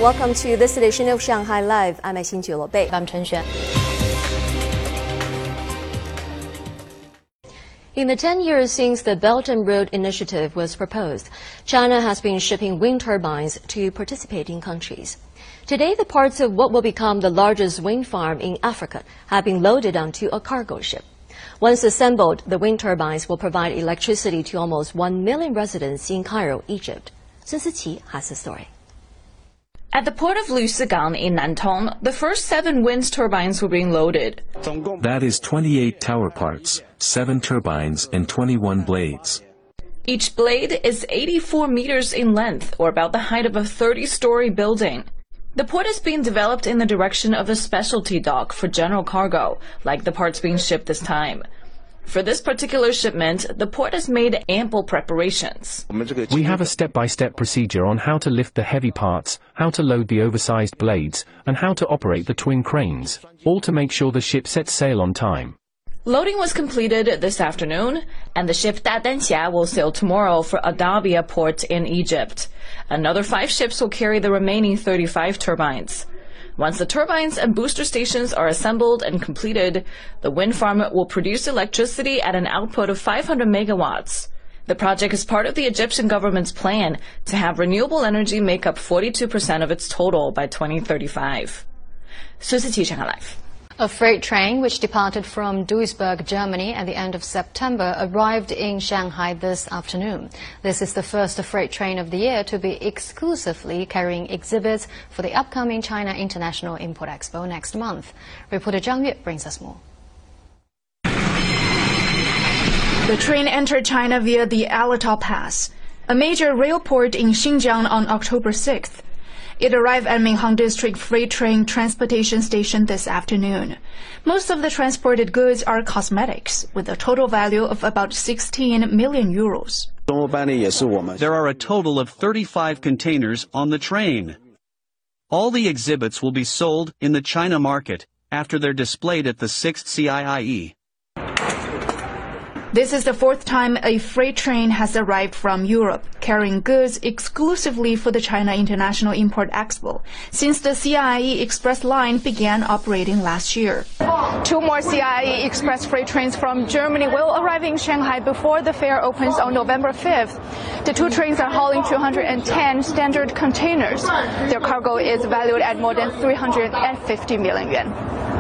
Welcome to this edition of Shanghai Live. I'm Xin Bei. I'm Chen Xuan. In the 10 years since the Belt and Road Initiative was proposed, China has been shipping wind turbines to participating countries. Today, the parts of what will become the largest wind farm in Africa have been loaded onto a cargo ship. Once assembled, the wind turbines will provide electricity to almost 1 million residents in Cairo, Egypt. Sun Siqi has the story. At the port of Lusigang in Nantong, the first 7 wind turbines were being loaded. That is 28 tower parts, 7 turbines and 21 blades. Each blade is 84 meters in length, or about the height of a 30-story building. The port is being developed in the direction of a specialty dock for general cargo, like the parts being shipped this time. For this particular shipment, the port has made ample preparations. We have a step-by-step procedure on how to lift the heavy parts, how to load the oversized blades, and how to operate the twin cranes, all to make sure the ship sets sail on time. Loading was completed this afternoon, and the ship Dadanxia will sail tomorrow for Adabia port in Egypt. Another 5 ships will carry the remaining 35 turbines. Once the turbines and booster stations are assembled and completed, the wind farm will produce electricity at an output of 500 megawatts. The project is part of the Egyptian government's plan to have renewable energy make up 42% of its total by 2035. Sun Siqi, Shanghai Live. A freight train which departed from Duisburg, Germany at the end of September arrived in Shanghai this afternoon. This is the first freight train of the year to be exclusively carrying exhibits for the upcoming China International Import Expo next month. Reporter Zhang Yue brings us more. The train entered China via the Alatau Pass, a major rail port in Xinjiang, on October 6th. It arrived at Minhang District Freight Train Transportation Station this afternoon. Most of the transported goods are cosmetics, with a total value of about 16 million euros. There are a total of 35 containers on the train. All the exhibits will be sold in the China market after they're displayed at the 6th CIIE. This is the 4th time a freight train has arrived from Europe, carrying goods exclusively for the China International Import Expo, since the CIIE Express line began operating last year. 2 more CIIE Express freight trains from Germany will arrive in Shanghai before the fair opens on November 5th. The 2 trains are hauling 210 standard containers. Their cargo is valued at more than 350 million yuan.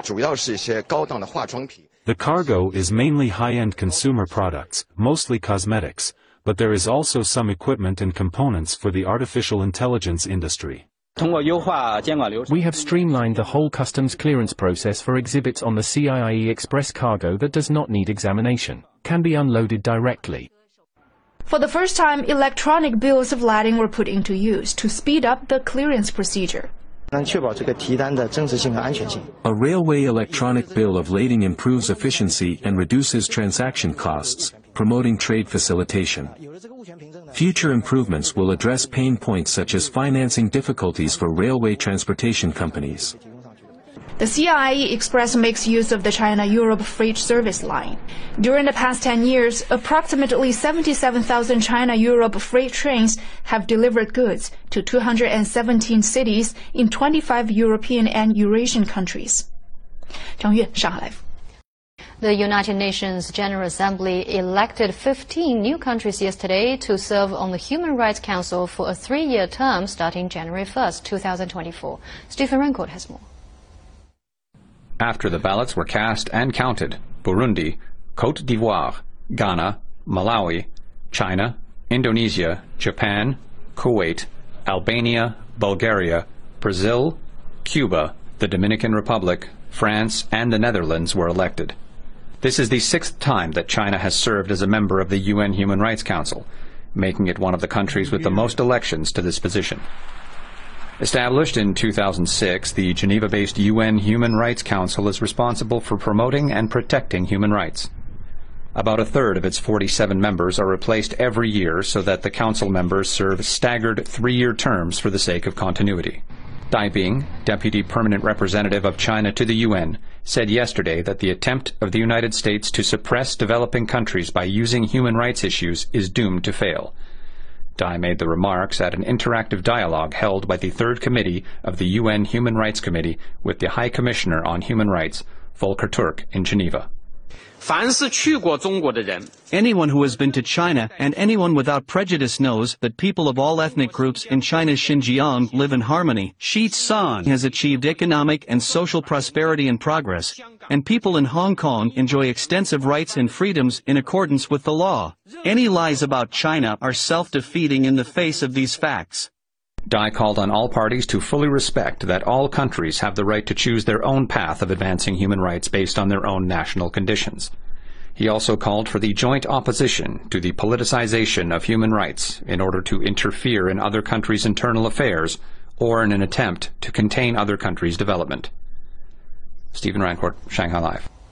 The cargo is mainly high-end consumer products, mostly cosmetics, but there is also some equipment and components for the artificial intelligence industry. We have streamlined the whole customs clearance process for exhibits on the CIIE Express cargo that does not need examination, can be unloaded directly. For the first time, electronic bills of lading were put into use to speed up the clearance procedure. A railway electronic bill of lading improves efficiency and reduces transaction costs, promoting trade facilitation. Future improvements will address pain points such as financing difficulties for railway transportation companies. The CIIE Express makes use of the China-Europe freight service line. During the past 10 years, approximately 77,000 China-Europe freight trains have delivered goods to 217 cities in 25 European and Eurasian countries. Zhang Yue, Shanghai Live. The United Nations General Assembly elected 15 new countries yesterday to serve on the Human Rights Council for a 3-year term starting January 1st, 2024. Stephen Rancourt has more. After the ballots were cast and counted, Burundi, Côte d'Ivoire, Ghana, Malawi, China, Indonesia, Japan, Kuwait, Albania, Bulgaria, Brazil, Cuba, the Dominican Republic, France, and the Netherlands were elected. This is the 6th time that China has served as a member of the UN Human Rights Council, making it one of the countries with the most elections to this position. Established in 2006, the Geneva-based UN Human Rights Council is responsible for promoting and protecting human rights. About a third of its 47 members are replaced every year so that the council members serve staggered 3-year terms for the sake of continuity. Dai Bing, Deputy Permanent Representative of China to the UN, said yesterday that the attempt of the United States to suppress developing countries by using human rights issues is doomed to fail. Dai made the remarks at an interactive dialogue held by the Third Committee of the UN Human Rights Committee with the High Commissioner on Human Rights, Volker Turk, in Geneva. Anyone who has been to China and anyone without prejudice knows that people of all ethnic groups in China's Xinjiang live in harmony. Xizang has achieved economic and social prosperity and progress, and people in Hong Kong enjoy extensive rights and freedoms in accordance with the law. Any lies about China are self-defeating in the face of these facts. Dai called on all parties to fully respect that all countries have the right to choose their own path of advancing human rights based on their own national conditions. He also called for the joint opposition to the politicization of human rights in order to interfere in other countries' internal affairs or in an attempt to contain other countries' development. Stephen Rancourt, Shanghai Live.